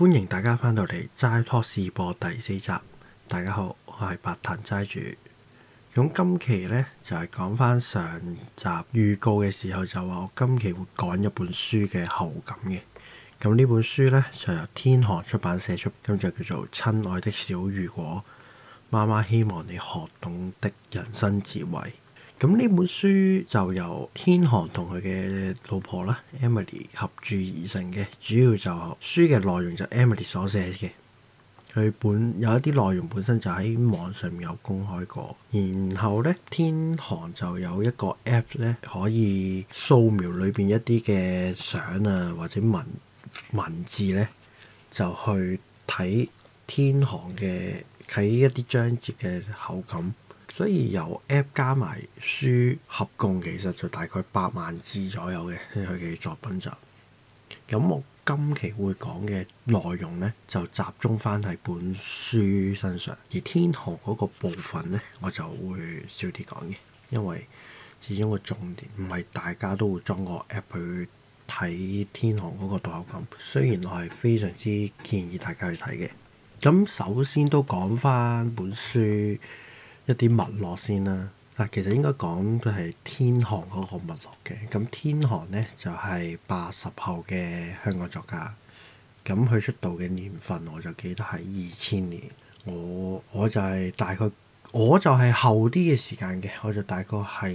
歡迎大家翻到嚟齋拖試播第4集。大家好，我係白藤齋主。咁今期呢，就係講翻上集預告嘅時候就話我今期會講一本書嘅後感嘅。咁呢本書呢，就由天河出版社出，咁就叫做《親愛的小如果》，媽媽希望你學懂的人生智慧。咁呢本書就由天河同佢嘅老婆啦 Emily 合著而成嘅，主要就書嘅內容就 Emily 所寫嘅。佢有一啲內容本身就喺網上面有公開過，然後呢，天河就有一個 app 呢，可以掃描裏邊一啲嘅相啊或者文字呢，就去睇天河嘅睇一啲章節嘅口感。所以由 app 加埋書合共其實就大概8萬字左右嘅佢嘅作品集。咁我今期會講嘅內容呢，就集中翻喺本書身上，而天河嗰個部分呢，我就會少啲講嘅，因為始終個重點唔係大家都會裝個 app 去睇天河嗰個讀後感。雖然我係非常之建議大家去睇嘅。咁首先都講翻本書一啲脈絡先啦。嗱，其實應該講都係天河嗰個脈絡嘅。咁天河呢，就係80後嘅香港作家。咁佢出道嘅年份我就記得係2000年。我就係大概我就係後啲嘅時間嘅，我就大概係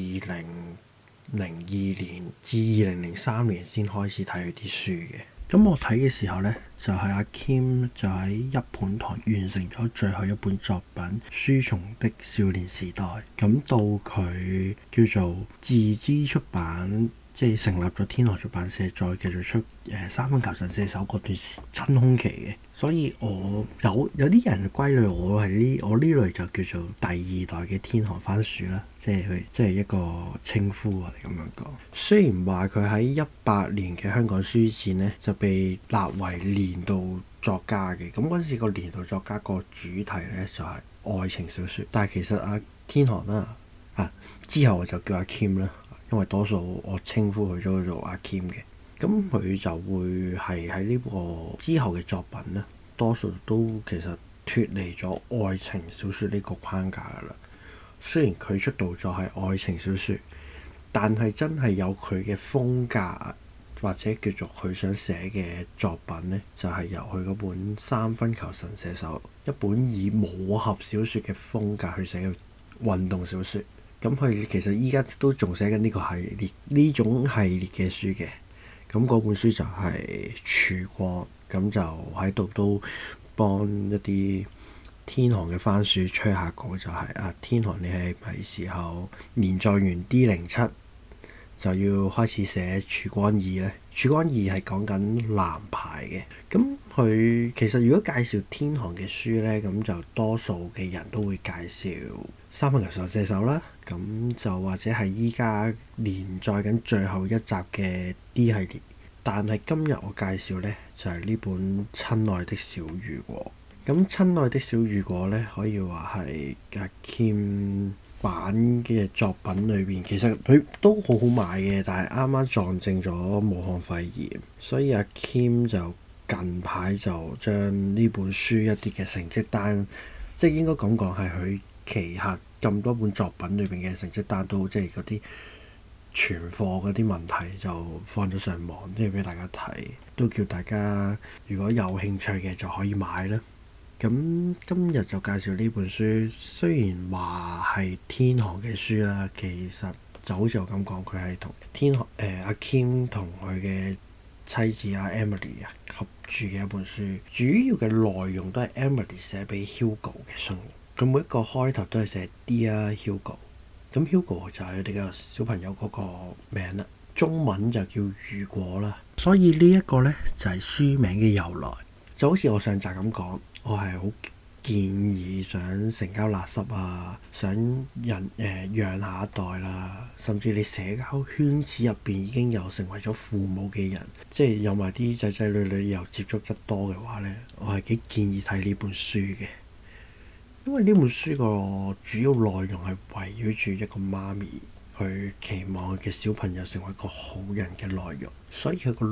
2002年至2003年先開始睇佢啲書嘅。咁我睇嘅時候呢，就係阿 Kim 就喺一本堂完成咗最後一本作品《書蟲的少年時代》。咁到佢叫做自資出版，即係成立咗天河出版社，再繼續出三分球神射手嗰段真空期嘅。所以我有啲人歸類我係我呢類就叫做第2代嘅天河番薯啦，即係一個稱呼我哋咁樣講。雖然話佢喺18年嘅香港書展呢，就被納為年度作家嘅，咁嗰陣時個年度作家個主題呢，就係愛情小說。但係其實阿天河啦之後我就叫阿 Kim 啦，因為多數我稱呼佢都做阿 Kim 嘅。咁佢就會係喺呢個之後嘅作品呢，多數都其實脫離咗愛情小說呢個框架噶啦。雖然佢出道作係愛情小說，但係真係有佢嘅風格，或者叫做佢想寫嘅作品呢，就係由佢嗰本《三分球神射手》，一本以武俠小說嘅風格去寫嘅運動小說。咁佢其實依家都仲寫緊呢個系列，呢種系列嘅書嘅。咁嗰本書就係曙光，咁就喺度都幫一啲天河嘅番薯吹下稿，就係天河你係咪時候連載完 D07 就要開始寫曙光2呢？曙光2係講緊藍牌嘅。咁佢其實如果介紹天河嘅書呢，咁就多數嘅人都會介紹三分球神射手啦，咁就或者係依家連載緊最後一集嘅 D 系列。但係今日我介紹呢，就係呢本親愛的小如果。咁親愛的小如果呢，可以話係阿 Kim 版嘅作品裏邊，其實佢都好好賣嘅，但係啱啱撞正咗武漢肺炎，所以阿 Kim 就近排就將呢本書一啲嘅成績單，即係應該咁講係佢旗下咁多本作品裏邊嘅成績單都即係嗰啲存貨嗰啲問題就放咗上網，即係俾大家睇，都叫大家如果有興趣嘅就可以買啦。咁今日就介紹呢本書，雖然話係天河嘅書啦，其實就好似我咁講，佢係同天河阿 Kim 同佢嘅妻子阿 Emily 合著嘅一本書，主要嘅內容都係 Emily 寫俾 Hugo 嘅信。佢每一個開頭都係寫 Dear Hugo， 咁 Hugo 就係佢哋嘅小朋友嗰個名啦，中文就叫如果啦。所以呢一個呢，就係書名嘅由來。就好似我上集咁講，我係好建議想成交垃圾啊，想養下一代啦，甚至你社交圈子入邊已經有成為咗父母嘅人，即係有埋啲仔仔女女又接觸得多嘅話呢，我係幾建議睇呢本書嘅。因為呢本書個主要內容係圍繞住一個媽咪，佢期望佢嘅小朋友成為一個好人嘅內容，所以佢個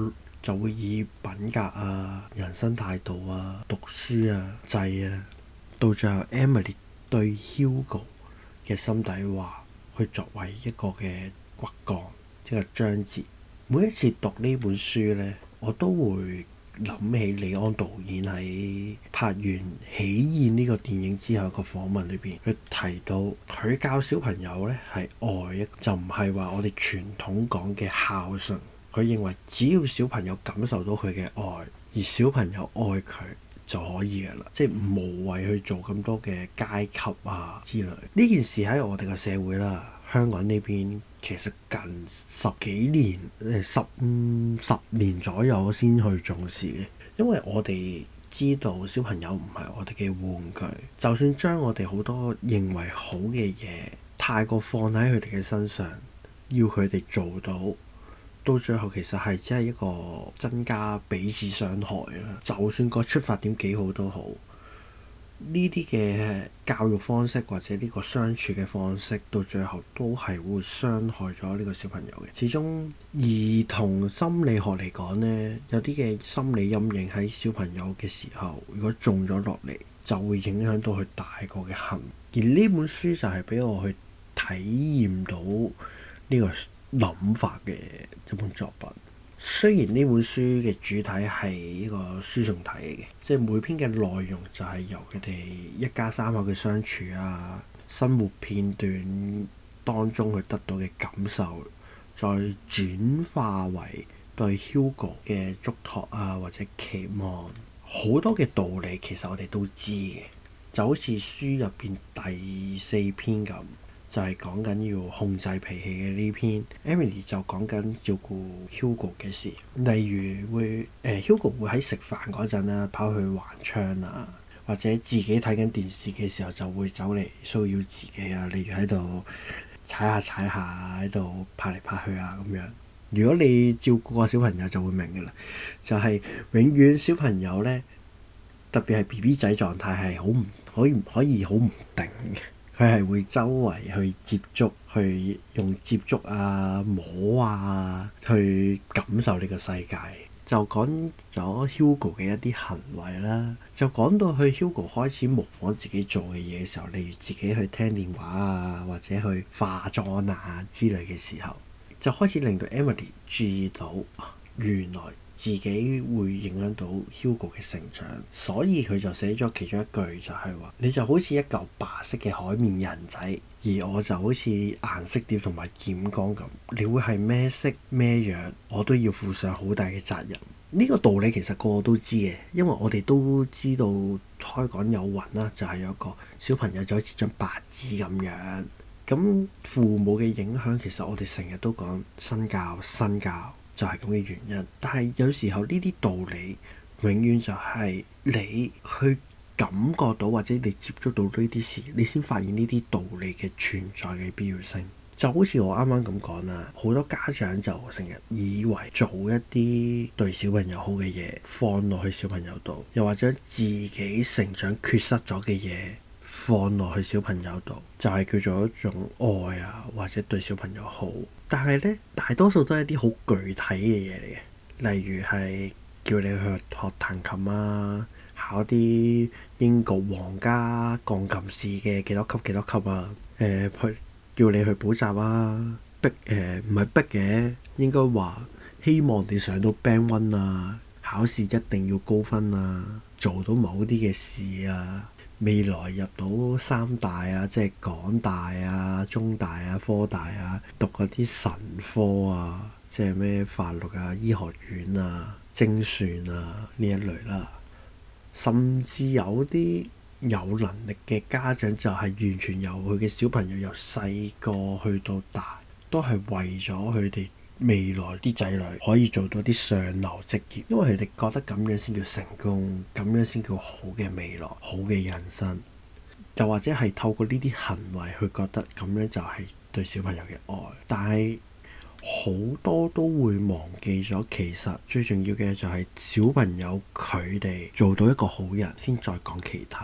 就會以品格啊、人生態度啊、讀書啊、制啊，到最後 Emily 對 Hugo 嘅心底話，去作為一個嘅骨幹，一個章節。每一次讀呢本書呢，我都會諗起李安導演喺拍完《喜宴》呢個電影之後個訪問裏邊，佢提到佢教小朋友呢係愛，就唔係話我哋傳統講嘅孝順。佢認為只要小朋友感受到佢嘅愛，而小朋友愛佢就可以㗎啦，即係無謂去做咁多嘅階級啊之類。呢件事喺我哋個社會啦，香港呢邊其實近十幾年十年左右先去重視嘅，因為我哋知道小朋友唔係我哋嘅玩具，就算將我哋好多認為好嘅嘢太過放喺佢哋嘅身上，要佢哋做到最後其實係只係一個增加彼此傷害啦。就算個出發點幾好都好，呢啲嘅教育方式或者呢個相處嘅方式，到最後都係會傷害咗呢個小朋友嘅。始終兒童心理學嚟講呢，有啲嘅心理陰影喺小朋友嘅時候，如果種咗落嚟，就會影響到佢大個嘅行為。而呢本書就係俾我去體驗到呢個諗法嘅一本作品。雖然呢本書嘅主體係一個書信體嚟嘅，即係每篇嘅內容就係由佢哋一家三口嘅相處啊、生活片段當中去得到嘅感受，再轉化為對 Hugo 嘅囑託啊或者期望。好多嘅道理其實我哋都知嘅，就好似書入邊第4篇咁。就係講緊要控制脾氣嘅呢篇 Emily 就講緊照顧 Hugo 嘅事，例如Hugo 會喺食飯嗰陣啦，跑去橫窗啊，或者自己睇緊電視嘅時候就會走嚟騷擾自己啊，例如喺度踩下喺度拍嚟拍去啊咁樣。如果你照顧個小朋友就會明㗎啦，就係永遠小朋友呢，特別係 BB 仔狀態係好唔可以好唔定嘅。佢係會周圍去接觸，去用接觸啊、摸啊，去感受呢個世界。就講咗 Hugo 嘅一啲行為啦，就講到去 Hugo 開始模仿自己做嘅嘢嘅時候，例如自己去聽電話啊，或者去化妝啊之類嘅時候，就開始令到 Emily 注意到原來自己會影響到 Hugo 嘅成長，所以佢就寫咗其中一句就係話：你就好似一嚿白色嘅海綿人仔，而我就好似顏色碟同埋染缸咁。你會係咩色咩樣，我都要負上好大嘅責任。呢個道理其實個個都知嘅，因為我哋都知道開講有雲啦，就係有一個小朋友就好似張白紙咁樣。咁父母嘅影響其實我哋成日都講身教。就係咁嘅原因，但係有時候呢啲道理永遠就係你去感覺到或者你接觸到呢啲事，你先發現呢啲道理嘅存在嘅必要性。就好似我啱啱咁講啦，好多家長就成日以為做一啲對小朋友好嘅嘢放落去小朋友度，又或者自己成長缺失咗嘅嘢放落去小朋友度，就係叫做一種愛啊，或者對小朋友好。但係咧，大多數都係一啲好具體嘅嘢嚟嘅，例如係叫你去學彈琴啊，考啲英國皇家鋼琴試嘅幾多級啊，叫你去補習啊，唔係逼嘅，應該話希望你上到 Band 1啊，考試一定要高分啊，做到某啲嘅事啊。未來入到3大啊，即係港大啊、中大啊、科大啊，讀嗰啲神科啊，即係咩法律啊、醫學院啊、精算啊呢一類啦。甚至有啲有能力嘅家長就係完全由佢嘅小朋友由細個去到大，都係為咗佢哋未來啲仔女可以做到啲上流職業，因為佢哋覺得咁樣先叫成功，咁樣先叫好嘅未來、好嘅人生。又或者係透過呢啲行為去覺得咁樣就係對小朋友嘅愛，但係好多都會忘記咗，其實最重要嘅就係小朋友佢哋做到一個好人先再講其他。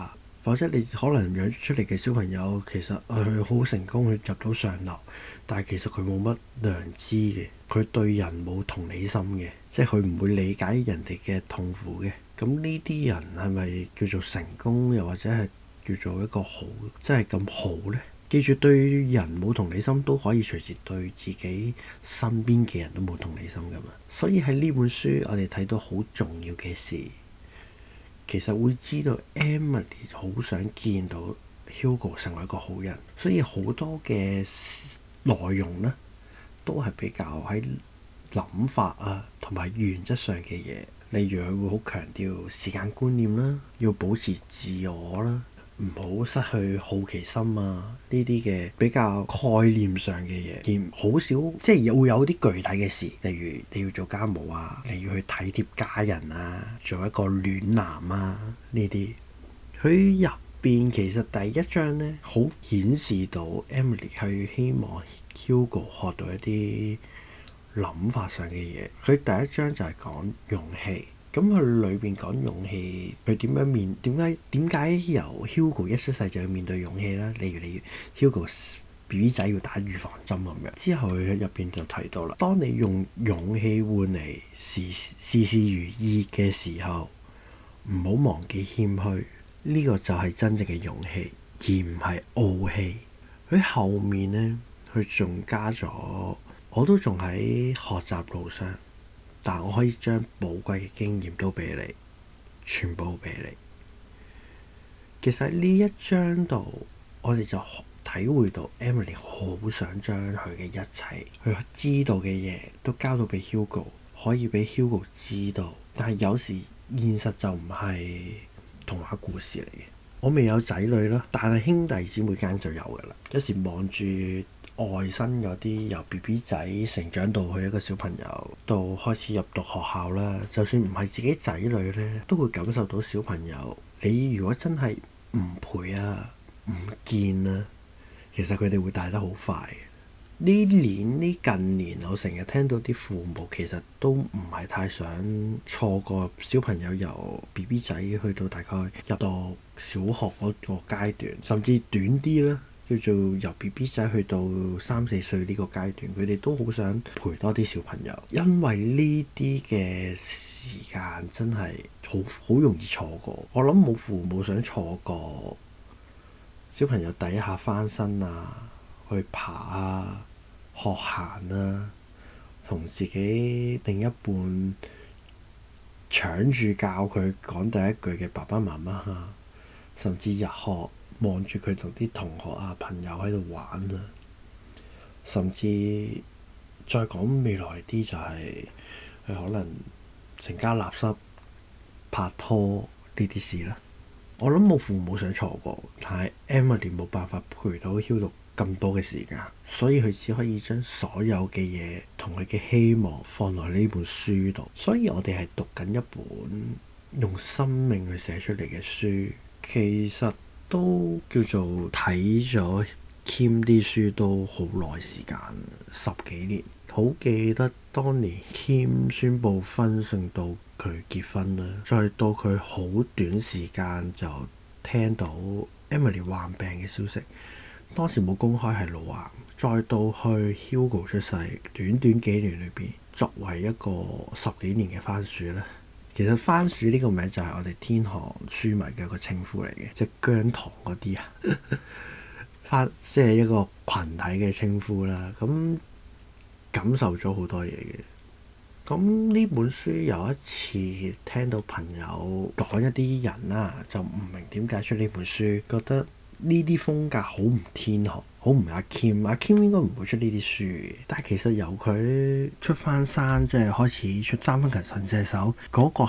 否則你可能養出嚟嘅小朋友其實佢好成功，佢入到上流，但係其實佢冇乜良知嘅，佢對人冇同理心嘅，即係佢唔會理解人哋嘅痛苦嘅。咁呢啲人係咪叫做成功，又或者係叫做一個好，真係咁好呢？記住，對人冇同理心都可以隨時對自己身邊嘅人都冇同理心㗎嘛。所以喺呢本書我哋睇到好重要嘅事，其實會知道 Emily 好想見到 Hugo 成為一個好人，所以好多嘅內容呢都係比較喺諗法啊同埋原則上嘅嘢。例如佢會好強調時間觀念啦，要保持自我啦，唔好失去好奇心啊，呢啲嘅比較概念上嘅嘢，而好少即係會有啲具體嘅事，例如你要做家務啊，你要去體貼家人啊，做一個暖男啊，呢啲佢入邊其實第一章呢，好顯示到 Emily 係希望 Hugo 學到一啲諗法上嘅嘢。佢第一章就係講勇氣。咁佢裏邊講勇氣，佢點解由 Hugo 一出世就要面對勇氣啦？例如你 Hugo BB 仔要打預防針咁樣，之後佢入邊就提到啦，當你用勇氣換嚟事事如意嘅時候，唔好忘記謙虛，呢個就係真正嘅勇氣，而唔係傲氣。佢後面呢，佢仲加咗，我都仲喺學習路上。但我可以將寶貴嘅經驗都俾你，全部俾你。其實呢一章度，我哋就體會到 Emily 好想將佢嘅一切，佢知道嘅嘢都交到俾 Hugo，可以俾 Hugo 知道。但係有時現實就唔係童話故事嚟嘅。我未有仔女啦，但係兄弟姊妹間就有㗎啦。有時望住外甥嗰啲由 BB 仔成長到去一個小朋友，到開始入讀學校啦，就算唔係自己仔女呢，都會感受到小朋友。你如果真係唔陪啊、唔見啊，其實佢哋會大得好快。呢近年，我成日聽到啲父母其實都唔係太想錯過小朋友由 BB 仔去到大概入到小學嗰個階段，甚至短啲啦。叫做由 BB 仔去到3-4歲呢個階段，佢哋都好想陪多啲小朋友，因為呢啲嘅時間真係好容易錯過。我諗冇父母想錯過小朋友第一下翻身啊，去爬啊，學行啊，同自己另一半搶住教佢講第一句嘅爸爸媽媽啊，甚至日學望住佢同啲同學啊朋友喺度玩啊，甚至再講未來啲就係佢可能成家立室拍拖呢啲事啦。我諗冇父母想錯過，但係 Emily 冇辦法陪到 Hugo 咁多嘅時間，所以佢只可以將所有嘅嘢同佢嘅希望放落呢本書度。所以我哋係讀緊一本用生命去寫出嚟嘅書，其實都叫做睇咗 Kim 啲書都好耐時間，10幾年。好記得當年 Kim 宣布婚訊到佢結婚啦，再到佢好短時間就聽到 Emily 患病嘅消息，當時冇公開係腦癌，再到去 Hugo 出世，短短幾年裏邊，作為一個10幾年嘅番薯咧。其實番薯呢個名就係我哋天航書迷嘅一個稱呼嚟嘅，即係姜糖嗰啲啊，即係一個群體嘅稱呼啦。咁感受咗好多嘢嘅。咁呢本書有一次聽到朋友講一啲人啦，就唔明點解出呢本書，覺得呢啲風格好唔天航，好唔阿 Kim， 阿 Kim 應該唔會出呢啲書嘅。但係其實由佢出翻山，即係開始出三分球神射手嗰個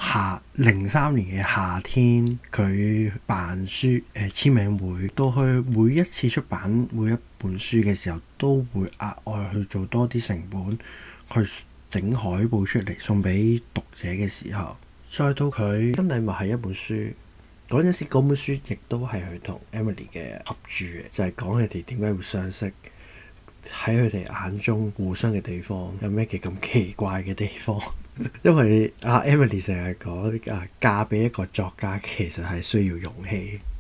03年嘅夏天，佢辦書簽名會，到去每一次出版每一本書嘅時候，都會額外去做多啲成本去整海報出嚟送俾讀者嘅時候，再到佢新禮物係一本書。嗰陣時，嗰本書亦都係佢同 Emily 嘅合著嘅，就係講佢哋點解會相識，喺佢哋眼中互相嘅地方有咩嘅咁奇怪嘅地方。因為Emily 成日講嫁俾一個作家其實係需要勇氣，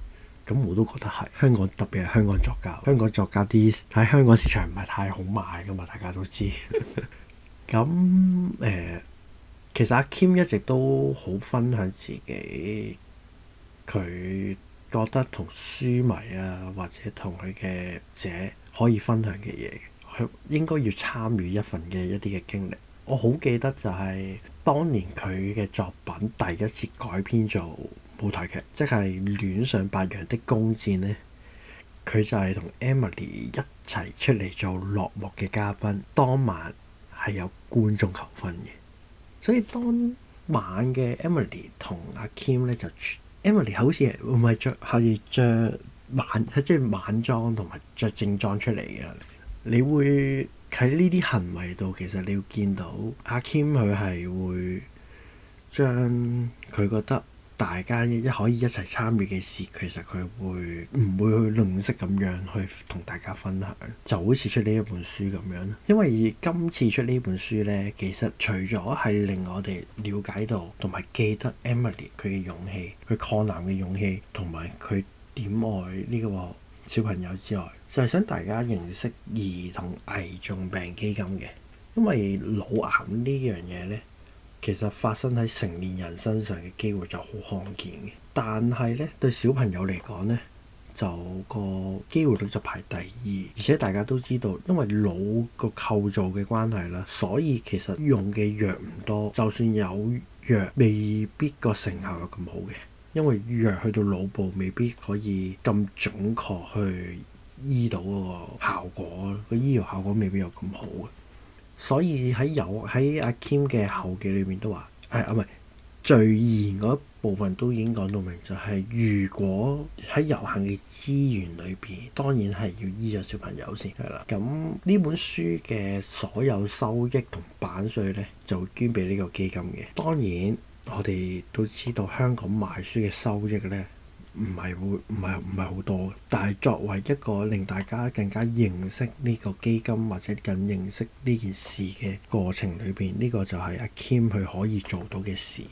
咁我都覺得係香港，特別係香港作家，香港作家啲喺香港市場唔係太好賣噶嘛，大家都知。咁其實阿 Kim 一直都好分享自己，佢覺得同書迷啊或者同佢嘅者可以分享嘅嘢，佢應該要參與一份嘅一啲嘅經歷。我好記得就係當年佢嘅作品第一次改編做舞台劇，即係《戀上白羊的弓箭》呢，佢就係同 Emily 一齊出嚟做落幕嘅嘉賓，當晚係有觀眾求婚嘅。所以當晚嘅 Emily 同阿 Kim 咧就 Emily 好似唔係着晚裝同埋着正裝出嚟嘅。你會喺呢啲行為度，其實你要見到阿 Kim 佢係會將佢覺得大家可以一齊參與嘅事，其實佢會唔會去吝嗇咁樣去同大家分享？就好似出呢一本書咁樣。因為今次出呢本書呢，其實除咗係令我哋了解到同埋記得 Emily 佢嘅勇氣，佢抗男嘅勇氣，同埋佢點愛呢個小朋友之外，就係想大家認識兒童危重病基金嘅。因為腦癌呢樣嘢呢，其實發生喺成年人身上嘅機會就好罕見嘅，但係咧對小朋友嚟講咧，就個機會率就排第二。而且大家都知道，因為腦個構造嘅關係啦，所以其實用嘅藥唔多，就算有藥，未必個成效有咁好嘅，因為藥去到腦部未必可以咁準確去醫到嗰個效果，個醫療效果未必有咁好嘅。所以喺阿 Kim 嘅後記裏面都話，唔係序言嗰部分都已經講到明，就係如果喺有限嘅資源裏邊，當然係要醫咗小朋友先係啦。咁呢本書嘅所有收益同版稅咧，就會捐俾呢個基金嘅。當然我哋都知道香港賣書嘅收益咧，唔係好多嘅，但係作為一個令大家更加認識呢個基金或者更認識呢件事嘅過程裏邊，呢個就係阿 Kim 佢可以做到嘅事。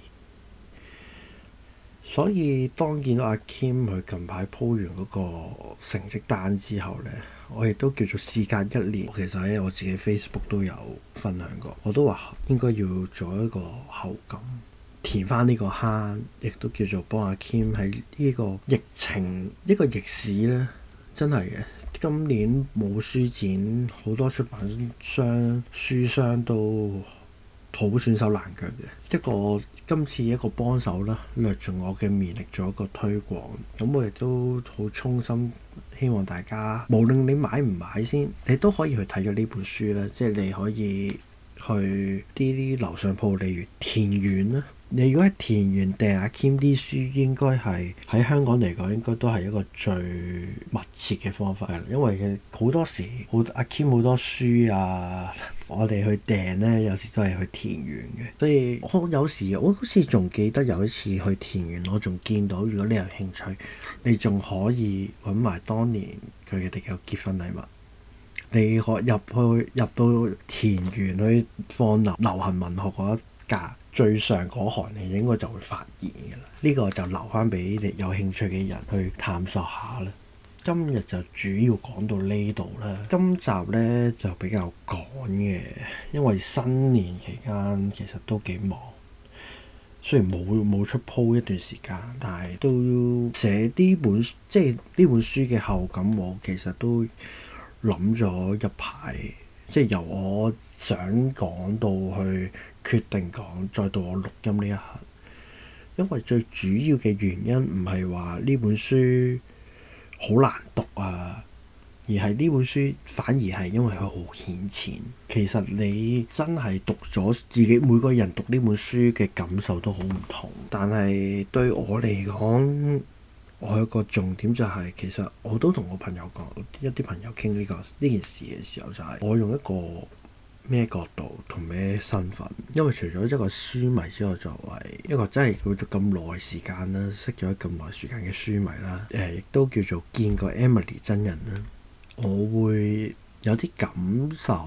所以當見到阿 Kim 佢近排鋪完嗰個成績單之後呢，我亦都叫做事隔一年，其實喺我自己 Facebook 都有分享過，我都話應該要做一個後感，填翻呢個坑，亦都叫做幫阿 Kim 喺呢個疫情一個逆市呢，真係嘅。今年冇書展，好多出版商書商都好損手爛腳嘅。今次一個幫手啦，略盡我嘅綿力做一個推廣。咁我亦都好衷心希望大家，無論你買唔買先，你都可以去睇咗呢本書啦。即係你可以去啲樓上鋪，例如田園啦。你如果喺田園訂阿 Kim 啲書，應該係喺香港嚟講，應該都係一個最密切嘅方法。因為好多時阿 Kim 好多書啊，我哋去訂呢，有時都係去田園嘅。所以有時我好似仲記得有一次去田園，我仲見到，如果你有興趣，你仲可以揾埋當年佢哋嘅結婚禮物。你可入到田園去放流行文學嗰一格，最上嗰行你應該就會發現嘅啦。呢個就留翻俾你有興趣嘅人去探索下啦。今日就主要講到呢度啦。今集呢就比較趕嘅，因為新年期間其實都幾忙。雖然冇出鋪一段時間，但係都要寫呢本書嘅後感，我其實都諗咗一排，即係由我想講到去決定講，再到我錄音呢一刻。因為最主要嘅原因唔係話呢本書好難讀啊，而係呢本書反而係因為佢好顯淺。其實你真係讀咗，自己每個人讀呢本書嘅感受都好唔同。但係對我嚟講，我有個重點就係，其實我都同我朋友講，一啲朋友傾呢件事嘅時候，就係我用一個咩角度同咩身份。因為除咗一個書迷之外，作為一個真係叫做咁耐時間啦，識咗咁耐時間嘅書迷啦，亦都叫做見過 Emily 真人啦，我會有啲感受，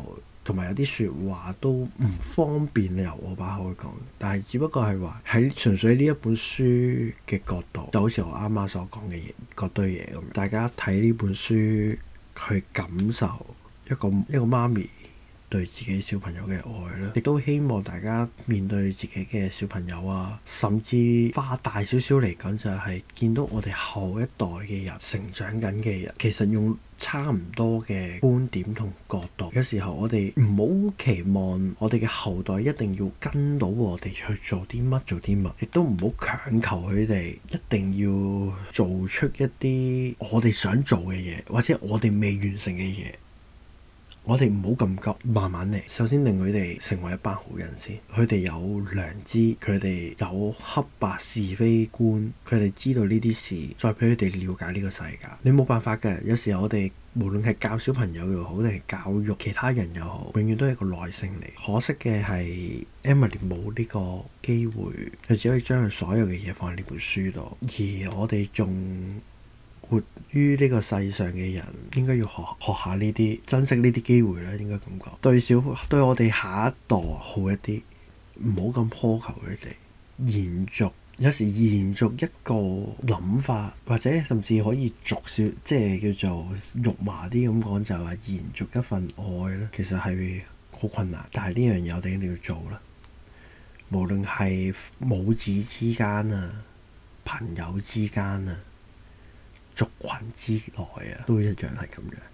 同埋有啲説話都唔方便由我把口去講，但係只不過係話喺純粹呢一本書嘅角度，就好似我啱啱所講嘅嘢嗰堆嘢咁樣，大家睇呢本書去感受一個媽咪對自己小朋友嘅愛啦，亦都希望大家面對自己嘅小朋友啊，甚至花大少少嚟講，就係見到我哋後一代嘅人成長緊嘅人，其實用差唔多嘅觀點同角度。有時候我哋唔好期望我哋嘅後代一定要跟到我哋去做啲乜，亦都唔好強求佢哋一定要做出一啲我哋想做嘅嘢，或者我哋未完成嘅嘢。我哋唔好咁急，慢慢嚟。首先令佢哋成為一班好人先，佢哋有良知，佢哋有黑白是非觀，佢哋知道呢啲事，再俾佢哋了解呢個世界。你冇辦法嘅，有時候我哋無論係教小朋友又好，定係教育其他人又好，永遠都係一個耐性嚟。可惜嘅係 Emily 冇呢個機會，佢只可以將佢所有嘅嘢放喺呢本書度，而我哋仲活於呢個世上嘅人，應該要學下呢啲，珍惜呢啲機會啦。應該咁講，對我哋下一代好一啲，唔好咁苛求佢哋。有時延續一個諗法，或者甚至可以即係叫做肉麻啲咁講，就係話延續一份愛啦。其實係好困難，但係呢樣嘢我哋一定要做啦。無論係母子之間啊，朋友之間啊，族群之內啊，都一樣係咁樣。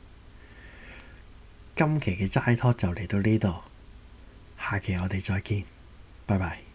今期嘅齋拖就嚟到呢度，下期我哋再見，拜拜。